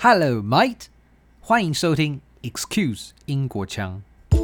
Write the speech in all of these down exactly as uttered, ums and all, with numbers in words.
Hello, mate！ 歡迎收聽 Excuse 英國腔。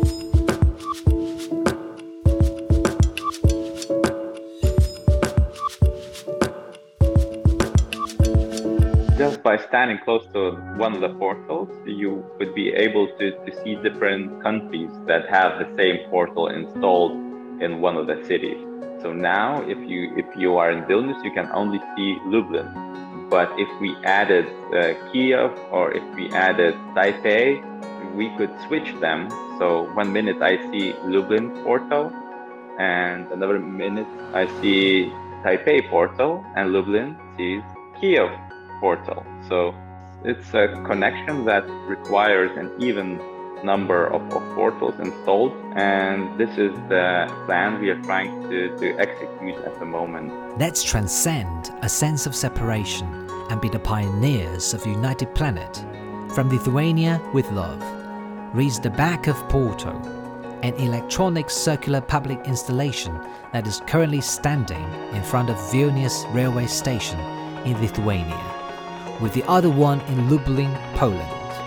Just by standing close to one of the portals, you would be able to, to see different countries that have the same portal installed in one of the cities. So now, if you if you are in Vilnius, you can only see Lublin. But if we added uh, Kiev or if we added Taipei, we could switch them. So one minute I see Lublin portal, and another minute I see Taipei portal, and Lublin sees Kiev portal. So it's a connection that requires an even number of, of portals installed, and this is the plan we are trying to, to execute at the moment. Let's transcend a sense of separation and be the pioneers of a united planet. From Lithuania with love, reads the back of Porto, an electronic circular public installation that is currently standing in front of Vilnius railway station in Lithuania, with the other one in Lublin, Poland.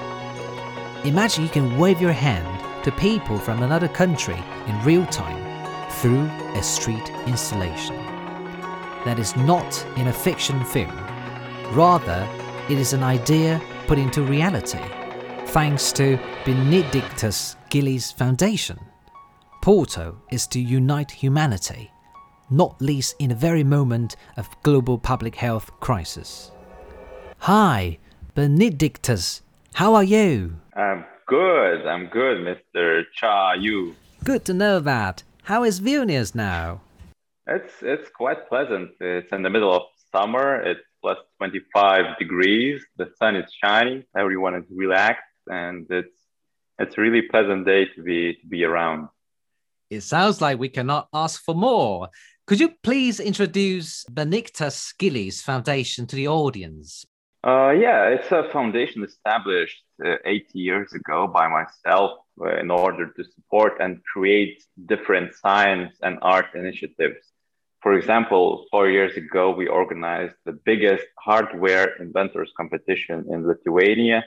Imagine you can wave your hand to people from another country in real time through a street installation. That is not in a fiction film. Rather, it is an idea put into reality, thanks to Benedictus Gillies Foundation. Porto is to unite humanity, not least in the very moment of global public health crisis. Hi, Benedictus. How are you? I'm good. I'm good, Mister Cha Yu. Good to know that. How is Vilnius now? It's it's quite pleasant. It's in the middle of summer. It's plus twenty-five degrees. The sun is shining. Everyone is relaxed, and it's it's a really pleasant day to be to be around. It sounds like we cannot ask for more. Could you please introduce Benedictus Gillies Foundation to the audience? Uh, yeah, it's a foundation established uh, eight years ago by myself uh, in order to support and create different science and art initiatives. For example, four years ago, we organized the biggest hardware inventors competition in Lithuania.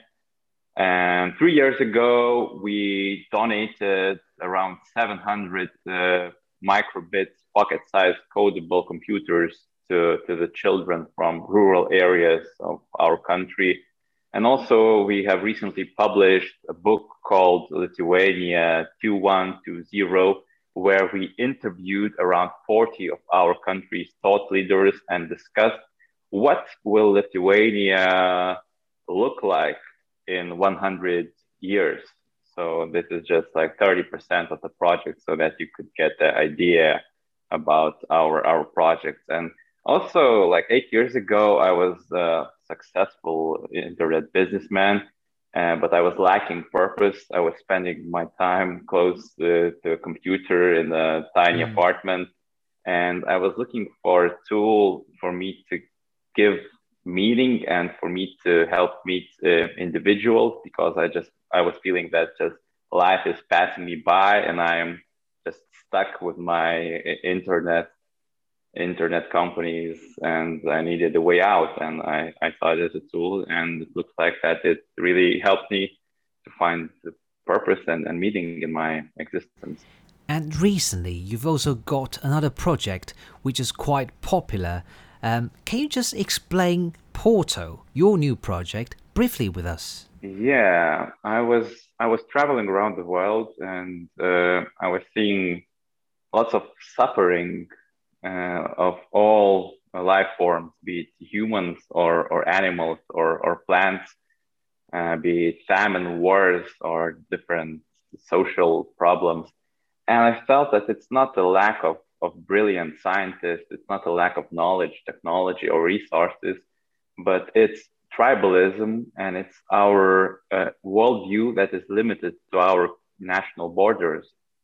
And three years ago, we donated around seven hundred uh, microbit pocket-sized codable computers To, to the children from rural areas of our country. And also we have recently published a book called Lithuania two one two zero, where we interviewed around forty of our country's thought leaders and discussed what will Lithuania look like in one hundred years. So this is just like thirty percent of the project so that you could get the idea about our, our projects. And also, like eight years ago, I was a successful internet businessman, uh, but I was lacking purpose. I was spending my time close to, to a computer in a tiny mm. apartment, and I was looking for a tool for me to give meaning and for me to help meet uh, individuals, because I just I was feeling that just life is passing me by, and I am just stuck with my internet. internet companies, and I needed a way out, and I, I saw it as a tool, and it looks like that it really helped me to find the purpose and, and meaning in my existence. And recently you've also got another project which is quite popular. Um, can you just explain Porto, your new project, briefly with us? Yeah, I was I was traveling around the world, and uh, I was seeing lots of suffering Uh, of all life forms, be it humans or, or animals or, or plants, uh, be it famine, wars, or different social problems. And I felt that it's not a lack of, of brilliant scientists, it's not a lack of knowledge, technology, or resources, but it's tribalism, and it's our uh, worldview that is limited to our national borders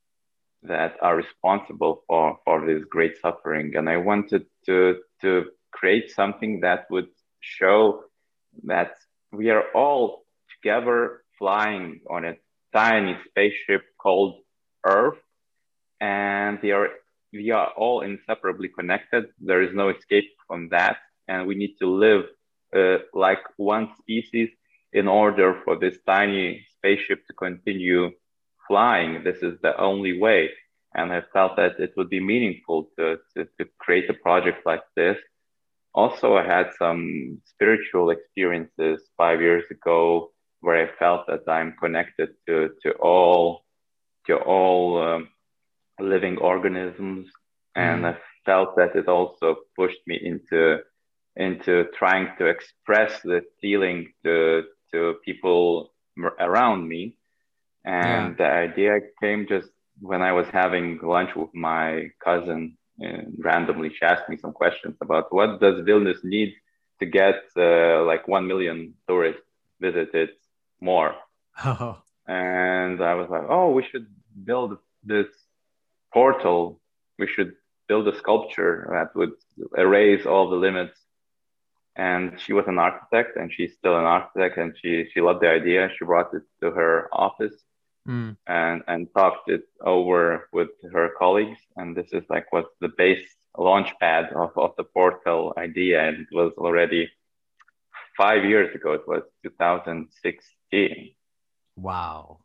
that are responsible for, for this great suffering. And I wanted to, to create something that would show that we are all together flying on a tiny spaceship called Earth, and they are, we are all inseparably connected. There is no escape from that, and we need to live uh, like one species in order for this tiny spaceship to continue flying, this is the only way. And I felt that it would be meaningful to, to, to create a project like this. Also, I had some spiritual experiences five years ago where I felt that I'm connected to, to all, to all um, living organisms. And Mm. I felt that it also pushed me into, into trying to express the feeling to, to people around me. Yeah. And the idea came just when I was having lunch with my cousin, and randomly she asked me some questions about what does Vilnius need to get uh, like one million tourists visited more. Oh. And I was like, oh, we should build this portal. We should build a sculpture that would erase all the limits. And she was an architect, and she's still an architect, and she she loved the idea. She brought it to her office Mm. and and talked it over with her colleagues. And this is like what's the base launch pad of, of the portal idea. And it was already five years ago. It was two thousand sixteen. Wow.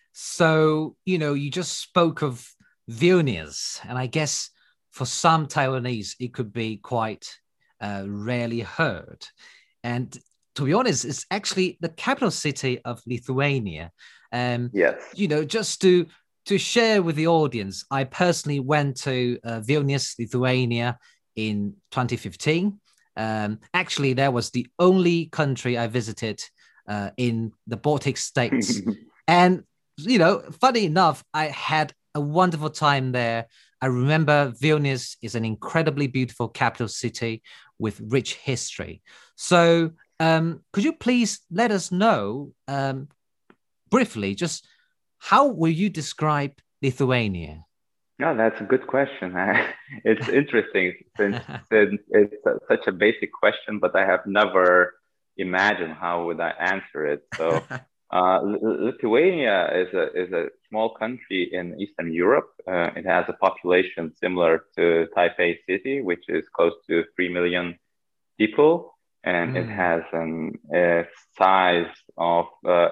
So, you know, you just spoke of Vilnius, and I guess for some Taiwanese, it could be quite uh, rarely heard. And to be honest, it's actually the capital city of Lithuania. Um, Yes. you know, just to to share with the audience, I personally went to uh, Vilnius, Lithuania in twenty fifteen. Um, actually, that was the only country I visited uh, in the Baltic states. And, you know, funny enough, I had a wonderful time there. I remember Vilnius is an incredibly beautiful capital city with rich history. So um, could you please let us know um, briefly, just how will you describe Lithuania? No, that's a good question. It's interesting since, since it's a, such a basic question, but I have never imagined how would I answer it. So, uh, Lithuania is a is a small country in Eastern Europe. Uh, it has a population similar to Taipei City, which is close to three million people, and it Mm, has an a size of uh,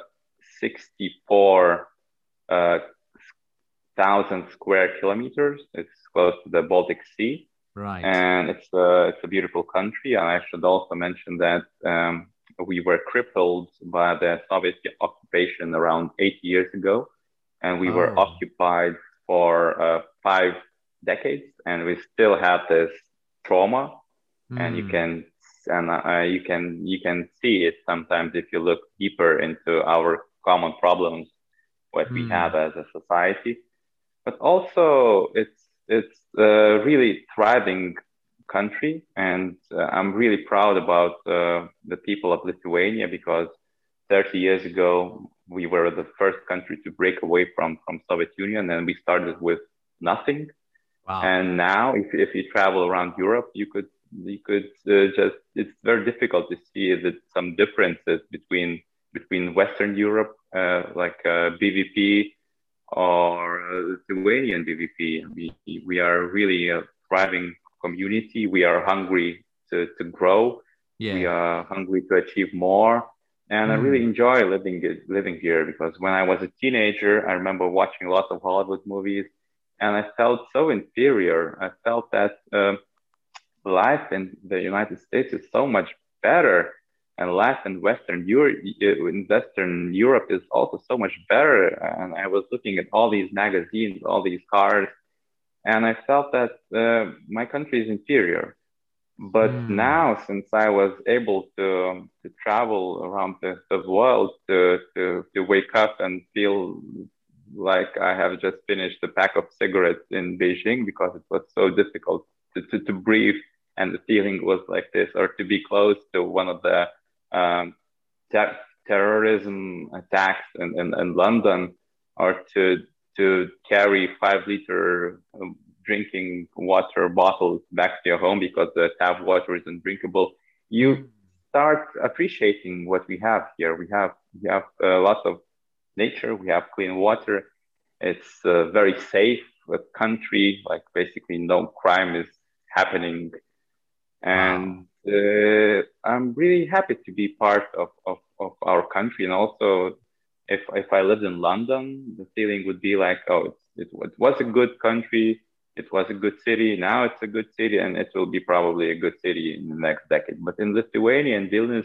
sixty-four uh, thousand square kilometers. It's close to the Baltic Sea, right. and it's a, it's a beautiful country. And I should also mention that um, we were crippled by the Soviet occupation around eight years ago, and we were Oh. occupied for uh, five decades, and we still have this trauma. And you Mm, can and uh, you can you can see it sometimes if you look deeper into our common problems, what we have mm, as a society. But also it's it's a really thriving country, and uh, I'm really proud about uh, the people of Lithuania because thirty years ago we were the first country to break away from from Soviet Union, and we started with nothing. wow. And now, if if you travel around Europe, you could you could uh, just it's very difficult to see that some differences between between Western Europe, uh, like uh, B V P or uh, Lithuanian B V P. We we are really a thriving community. We are hungry to to grow. We Yeah. are hungry to achieve more. And I really Mm, enjoy living living here because when I was a teenager, I remember watching lots of Hollywood movies, and I felt so inferior. I felt that um, life in the United States is so much better, and life in Western Europe, in Western Europe is also so much better. And I was looking at all these magazines, all these cars, and I felt that uh, my country is inferior. But mm, now, since I was able to to travel around the, the world, to, to to wake up and feel like I have just finished a pack of cigarettes in Beijing because it was so difficult to, to, to breathe, and the feeling was like this, or to be close to one of the um, ter- terrorism attacks in, in, in London, or to to carry five liter um, drinking water bottles back to your home because the tap water is undrinkable. You mm. start appreciating what we have here. We have we have a lot of nature. We have clean water. It's a very safe country. Like basically, no crime is happening, Wow. and uh, I'm really happy to be part of, of of our country. And also, if if I lived in London, the feeling would be like, oh, it's, it, it was a good country, it was a good city, now it's a good city, and it will be probably a good city in the next decade. But in Lithuania and Vilnius,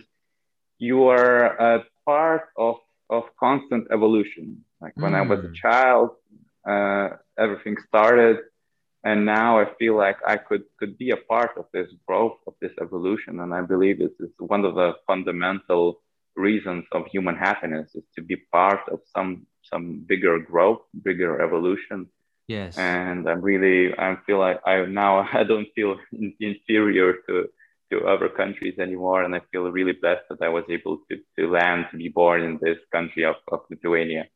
you are a part of of constant evolution. Like when I was a Mm. child, uh, everything started, and now I feel like I could could be a part of this growth, of this evolution. And I believe this is one of the fundamental reasons of human happiness, is to be part of some some bigger growth, bigger evolution. Yes. And I'm really, I feel like I now I don't feel in, inferior to to other countries anymore, and I feel really blessed that I was able to to land, to be born in this country of, of Lithuania.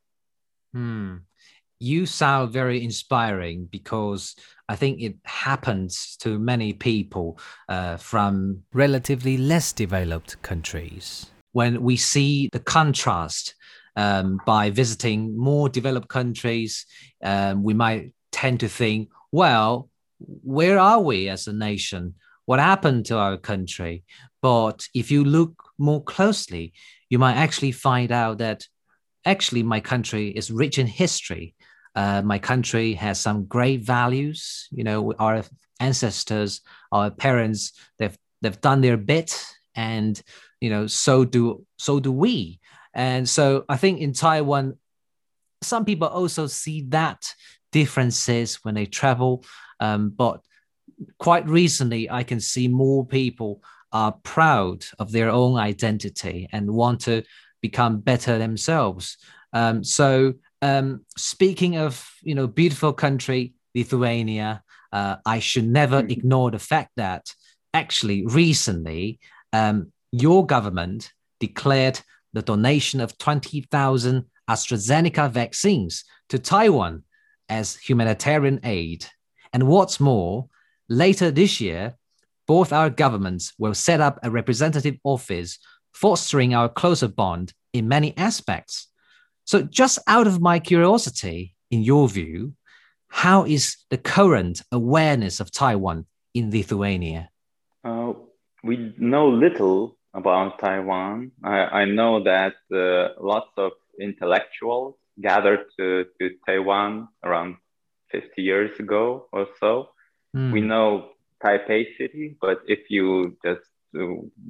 Hmm. You sound very inspiring because I think it happens to many people uh, from relatively less developed countries. When we see the contrast um, by visiting more developed countries, um, we might tend to think, well, where are we as a nation? What happened to our country? But if you look more closely, you might actually find out that actually my country is rich in history. Uh, my country has some great values. You know, our ancestors, our parents, they've they've done their bit, and you know, so do so do we. And so I think in Taiwan, some people also see that differences when they travel. Um, but quite recently, I can see more people are proud of their own identity and want to become better themselves. Um, so, um, speaking of you know beautiful country Lithuania, uh, I should never ignore the fact that actually recently um, your government declared the donation of twenty thousand AstraZeneca vaccines to Taiwan as humanitarian aid. And what's more, later this year, both our governments will set up a representative office, fostering our closer bond in many aspects. So, just out of my curiosity, in your view, how is the current awareness of Taiwan in Lithuania? Uh, we know little about Taiwan. I, I know that uh, lots of intellectuals gathered to, to Taiwan around fifty years ago or so. We Mm. know Taipei City, but if you just uh,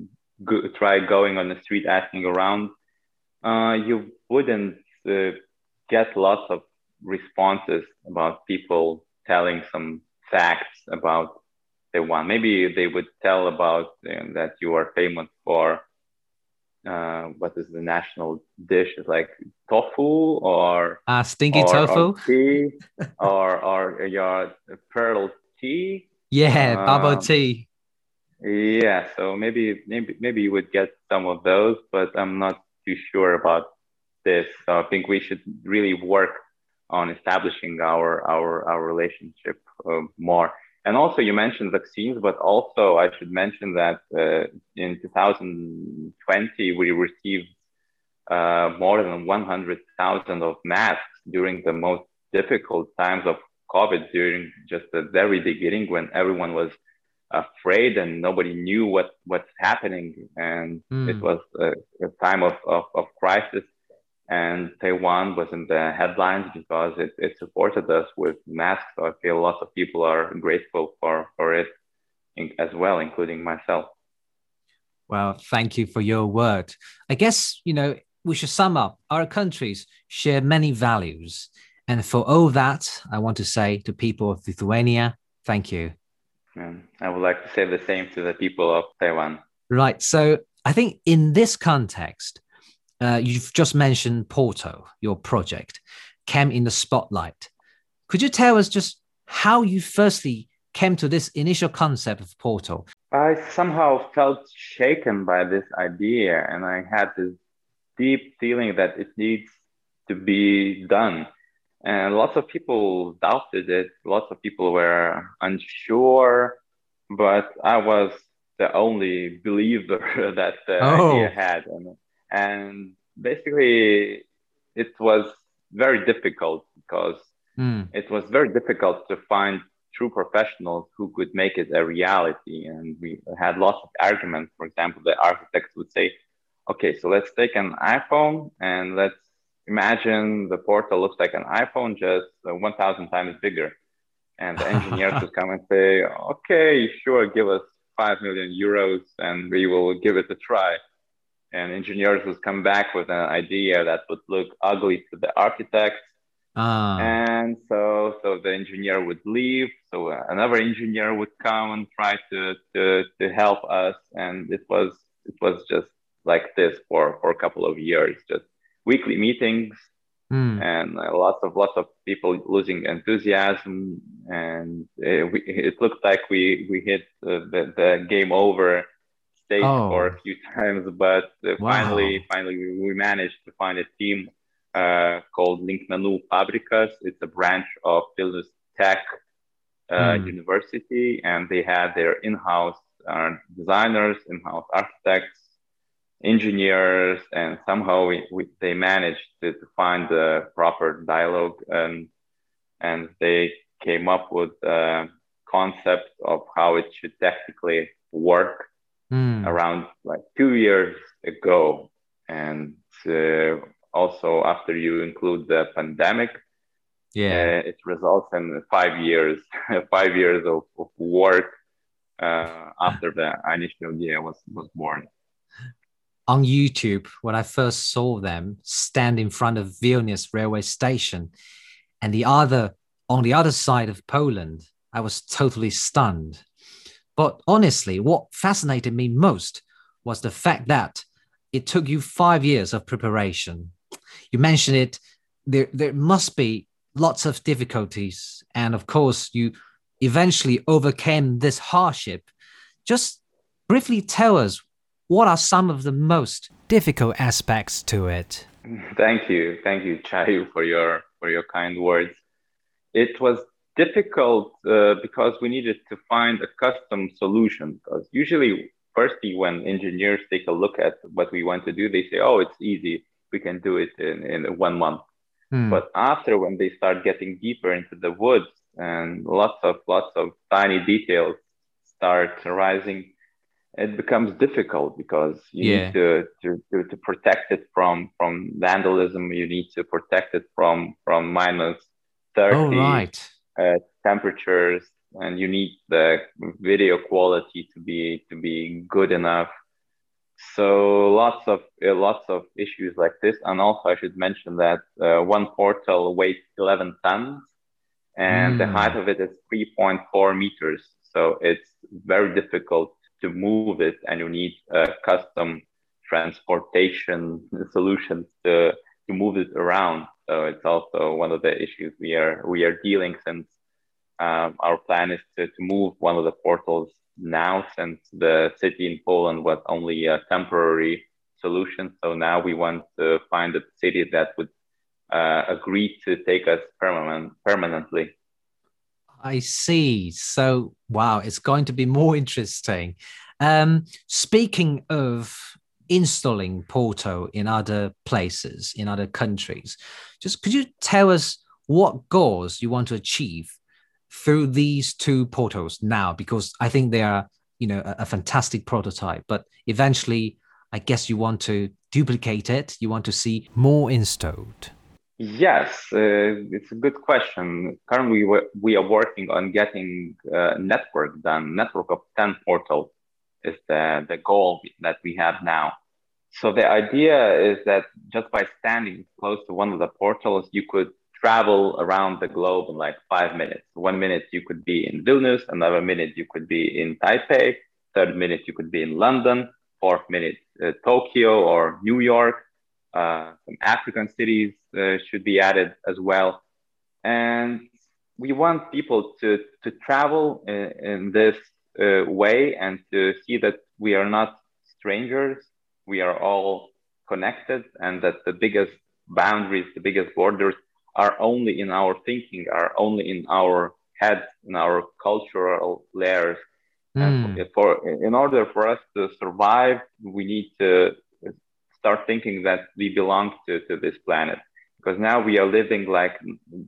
go, try going on the street asking around, uh, you wouldn't uh, get lots of responses about people telling some facts about Taiwan. Maybe they would tell about uh, that you are famous for uh, what is the national dish? It's like tofu or Ah, stinky or or tofu? tea or or your pearl tea. Yeah, bubble Um, tea. yeah, so maybe maybe maybe you would get some of those, but I'm not too sure about this. So I think we should really work on establishing our our our relationship uh, more. And also, you mentioned vaccines, but also I should mention that uh, in two thousand twenty we received uh, more than one hundred thousand of masks during the most difficult times of COVID, during just the very beginning when everyone was afraid and nobody knew what what's happening, and it Mm. was a, a time of, of, of crisis, and Taiwan was in the headlines because it, it supported us with masks. So I feel lots of people are grateful for for it in, as well, including myself. Well, thank you for your word. I guess, you know, we should sum up. Our countries share many values. And for all that, I want to say to people of Lithuania, thank you. And I would like to say the same to the people of Taiwan. Right. So I think in this context, uh, you've just mentioned Porto, your project, came in the spotlight. Could you tell us just how you firstly came to this initial concept of Porto? I somehow felt shaken by this idea, and I had this deep feeling that it needs to be done. And lots of people doubted it. Lots of people were unsure, but I was the only believer that the idea Oh, had. And, and basically, it was very difficult because mm, it was very difficult to find true professionals who could make it a reality. And we had lots of arguments. For example, the architects would say, okay, so let's take an iPhone and let's imagine the portal looks like an iPhone, just uh, one thousand times bigger. And the engineers would come and say, okay, sure, give us five million euros and we will give it a try. And engineers would come back with an idea that would look ugly to the architect. Ah. And so, so the engineer would leave. So another engineer would come and try to, to, to help us. And it was, it was just like this for, for a couple of years, just weekly meetings, Mm. and uh, lots of lots of people losing enthusiasm, and uh, we, it looked like we we hit uh, the the game over stage for Oh, a few times, but uh, finally wow. finally we, we managed to find a team uh, called Linkmenų Fabrikas. It's a branch of Vilnius Tech uh, Mm. University, and they had their in-house uh, designers, in-house architects, engineers, and somehow we, we they managed to, to find the proper dialogue, and and they came up with a concept of how it should technically work Mm. around like two years ago. And uh, also after you include the pandemic, Yeah. uh, it results in five years five years of, of work uh, after the initial idea was was born. On YouTube, when I first saw them stand in front of Vilnius railway station and the other on the other side of Poland, I was totally stunned. But honestly, what fascinated me most was the fact that it took you five years of preparation. You mentioned it, there, there must be lots of difficulties. And of course, you eventually overcame this hardship. Just briefly tell us what are some of the most difficult aspects to it? Thank you, thank you, Chayu, for your for your kind words. It was difficult uh, because we needed to find a custom solution. Because usually, firstly, when engineers take a look at what we want to do, they say, "Oh, it's easy. We can do it in, in one month." Hmm. But after, when they start getting deeper into the woods and lots of lots of tiny details start arising, it becomes difficult because you need Yeah. to, to, to, to protect it from, from vandalism. You need to protect it from, from minus Oh, thirty right. uh, temperatures, and you need the video quality to be, to be good enough. So lots of uh, lots of issues like this. And also I should mention that uh, one portal weighs eleven tons and the height Hmm. of it is three point four meters. So it's very difficult to move it, and you need uh, custom transportation solutions to, to move it around. So it's also one of the issues we are we are dealing, since um, our plan is to, to move one of the portals now, since the city in Poland was only a temporary solution. So now we want to find a city that would uh, agree to take us permanent, permanently. I see. So, wow, it's going to be more interesting. Um, speaking of installing Porto in other places, in other countries, just could you tell us what goals you want to achieve through these two portals now? Because I think they are, you know, a, a fantastic prototype, but eventually, I guess you want to duplicate it. You want to see more installed. Yes, uh, it's a good question. Currently, we, we are working on getting a network done. Network of ten portals is the, the goal that we have now. So the idea is that just by standing close to one of the portals, you could travel around the globe in like five minutes. One minute you could be in Vilnius, another minute you could be in Taipei, third minute you could be in London, fourth minute uh, Tokyo or New York. Uh, some African cities uh, should be added as well. And we want people to, to travel in, in this uh, way and to see that we are not strangers. We are all connected, and that the biggest boundaries, the biggest borders are only in our thinking, are only in our heads, in our cultural layers. And for, Hmm. for in order for us to survive, we need to start thinking that we belong to, to this planet, because now we are living like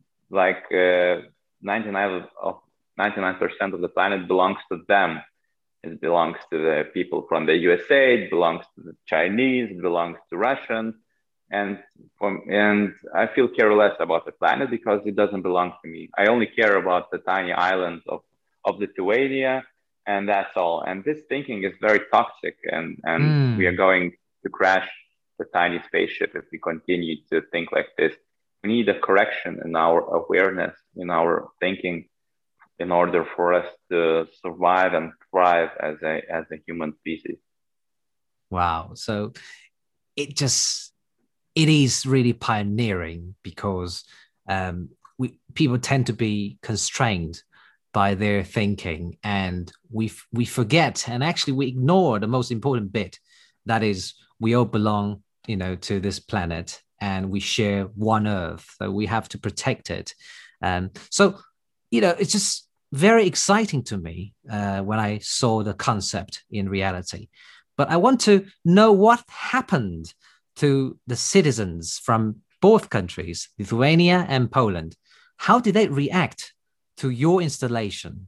like uh, ninety-nine of ninety-nine percent of the planet belongs to them. It belongs to the people from the U S A. It belongs to the Chinese. It belongs to Russians. And from, and I feel careless about the planet because it doesn't belong to me. I only care about the tiny islands of, of Lithuania, and that's all. And this thinking is very toxic, and, and we are Mm. going to crash the tiny spaceship if we continue to think like this. We need a correction in our awareness, in our thinking, in order for us to survive and thrive as a as a human species. Wow. So it just it is really pioneering because um, we people tend to be constrained by their thinking, and we we forget, and actually we ignore the most important bit, that is we all belong, you know, to this planet, and we share one Earth, so we have to protect it. And so, you know, it's just very exciting to me uh, when I saw the concept in reality. But I want to know what happened to the citizens from both countries, Lithuania and Poland. How did they react to your installation?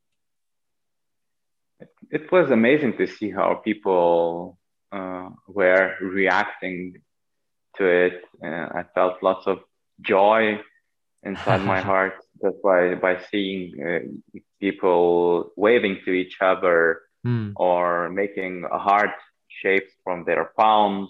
It was amazing to see how people uh, were reacting to it. Uh, I felt lots of joy inside my heart just by by seeing uh, people waving to each other Mm. or making heart shapes from their palms,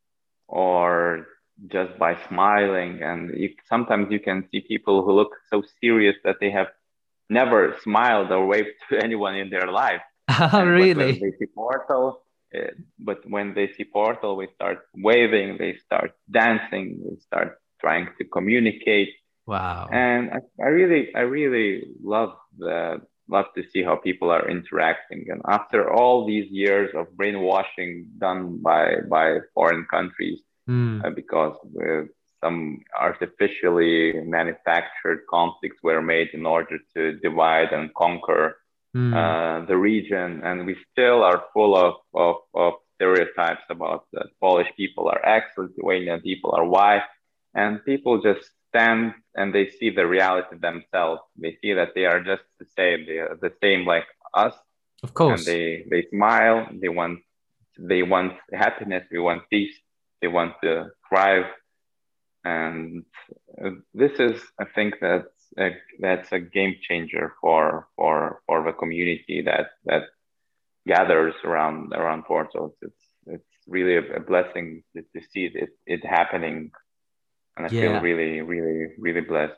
or just by smiling. And you, sometimes you can see people who look so serious that they have never smiled or waved to anyone in their life. And but when Really? they see Portal, uh, but when they see Portal, we start waving, they start dancing, they start trying to communicate. Wow. And I, I really, I really love the love to see how people are interacting. And after all these years of brainwashing done by by foreign countries, Mm. uh, because uh, some artificially manufactured conflicts were made in order to divide and conquer Mm. uh, the region, and we still are full of, of, of stereotypes about that Polish people are X, Lithuanian people are Y, and people just stand and they see the reality themselves. They see that they are just the same, they are the same like us, Of and course. they they smile. They want they want happiness. They want peace. They want to thrive, and uh, this is, I think, that's a, that's a game changer for for for the community that that gathers around around portals. It's it's really a, a blessing to, to see it it happening, and I feel Yeah. really really really blessed.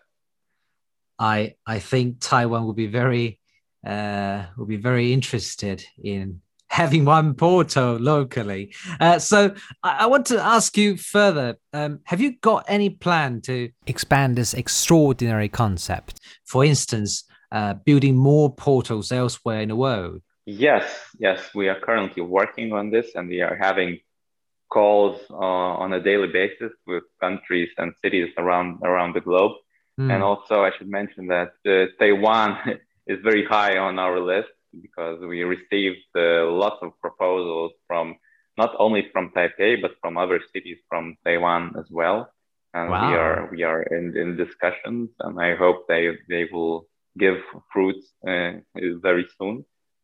I I think Taiwan will be very uh, will be very interested in having one portal locally. Uh, so I, I want to ask you further. Um, have you got any plan to expand this extraordinary concept? For instance, uh, building more portals elsewhere in the world. Yes, yes, we are currently working on this, and we are having calls uh, on a daily basis with countries and cities around around the globe. And Hmm. also, I should mention that uh, Taiwan is very high on our list because we received uh, lots of proposals from not only from Taipei but from other cities from Taiwan as well. And we Wow. are we are in, in discussions, and I hope they they will give fruits uh, very soon.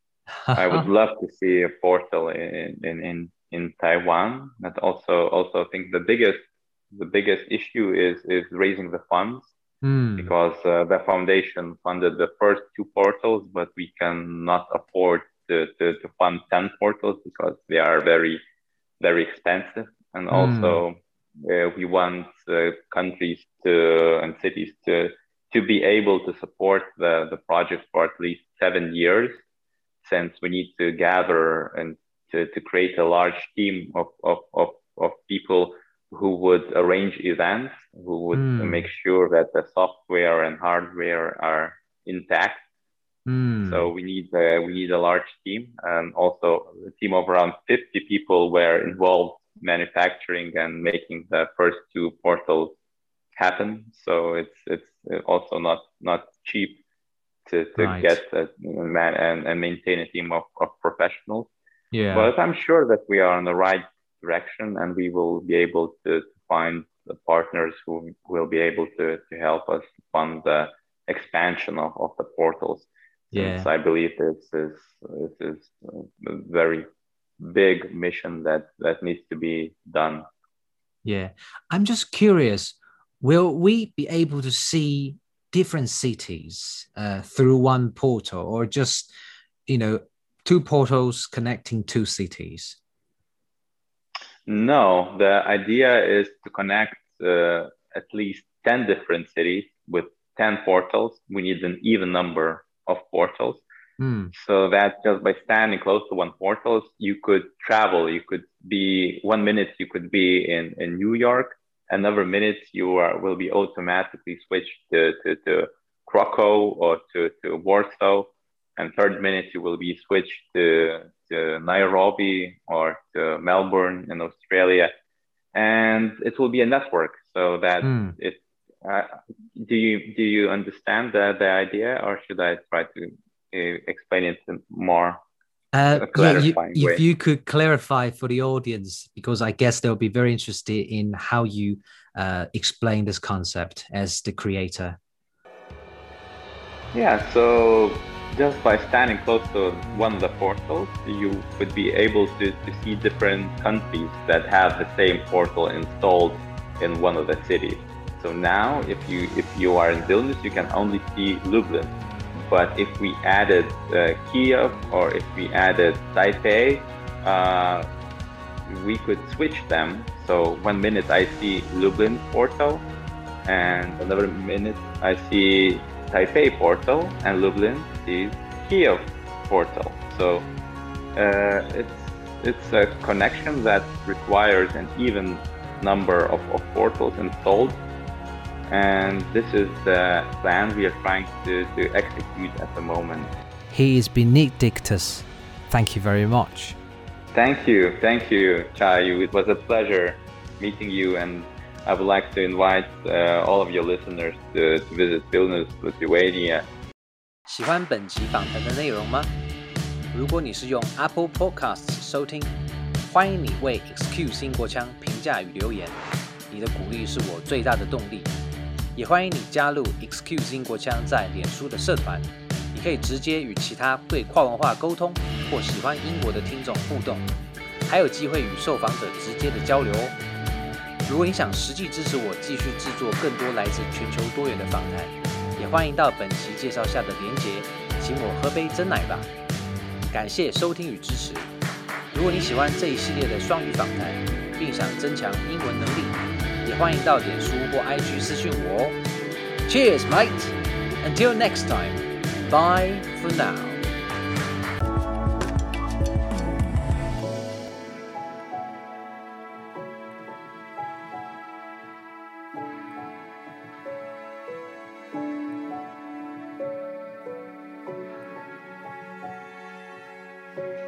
I would love to see a portal in in in, in Taiwan. But also also think the biggest the biggest issue is is raising the funds, Hmm. because uh, the foundation funded the first two portals, but we cannot afford to, to, to fund ten portals because they are very very expensive. And Hmm. also uh, we want uh, countries to and cities to to be able to support the the project for at least seven years, since we need to gather and to, to create a large team of, of, of, of people who would arrange events, who would make Hmm. sure that the software and hardware are intact. So Hmm. we need uh, we need a large team, and also a team of around fifty people were involved manufacturing and making the first two portals happen. So it's it's also not not cheap to, to get Right. a man and, and maintain a team of, of professionals. Yeah. But I'm sure that we are in the right direction, and we will be able to, to find the partners who will be able to, to help us fund the expansion of, of the portals. Yeah. since I believe this is this is a very big mission that that needs to be done. Yeah. I'm just curious, will we be able to see different cities uh, through one portal, or just, you know, two portals connecting two cities? No, the idea is to connect uh, at least ten different cities with ten portals. We need an even number of portals. Mm. So that just by standing close to one portal, you could travel. You could be one minute, you could be in, in New York. Another minute, you are, will be automatically switched to, to, to Krakow or to, to Warsaw. And third minute, you will be switched to, to Nairobi or to Melbourne in Australia. And it will be a network so that Mm. it, uh, do you, do you understand the, the idea, or should I try to explain it more Uh, a yeah, you, clarifying if way? you could clarify for the audience, because I guess they'll be very interested in how you uh, explain this concept as the creator. Yeah, so just by standing close to one of the portals, you would be able to, to see different countries that have the same portal installed in one of the cities. So now, if you if you are in Vilnius, you can only see Lublin. But if we added uh, Kiev, or if we added Taipei, uh, we could switch them. So one minute I see Lublin portal, and another minute I see Taipei portal, and Lublin sees Kiev portal. So uh, it's it's a connection that requires an even number of, of portals installed. And this is the plan we are trying to, to execute at the moment. He is Benedictus. Thank you very much. Thank you. Thank you, Chayu. It was a pleasure meeting you, and I would like to invite uh, all of your listeners to, to visit Vilnius, Lithuania. 喜歡本集訪談的內容嗎？如果你是用 Apple Podcasts 收聽，歡迎你為 X Q 新國腔評價與留言，你的鼓勵是我最大的動力。也歡迎你加入 X Q 新國腔在臉書的社團，你可以直接與其他對跨文化溝通或喜歡英國的聽眾互動，還有機會與受訪者直接的交流哦。如果你想實際支持我繼續製作更多來自全球多元的訪談，也歡迎到本期介紹下的連結，請我喝杯珍奶吧。感謝收聽與支持。如果你喜歡這一系列的雙語訪談，並想增強英文能力，也歡迎到臉書或 I G 私訊我哦。Cheers, mate! Until next time, bye for now. Thank you.